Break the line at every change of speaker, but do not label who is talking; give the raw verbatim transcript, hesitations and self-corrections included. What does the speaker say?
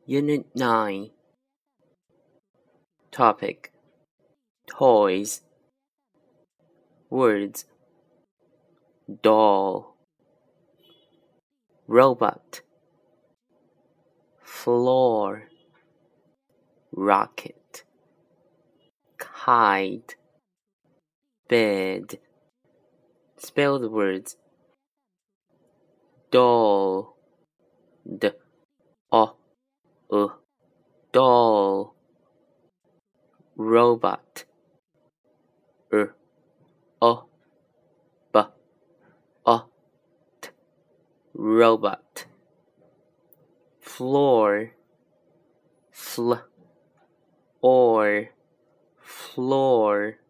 Unit nine. Topic: Toys. Words: doll, robot, floor, rocket, kite, bed. Spell the words: doll, d o uh, doll, robot, r o b o t, robot, floor, fl or floor,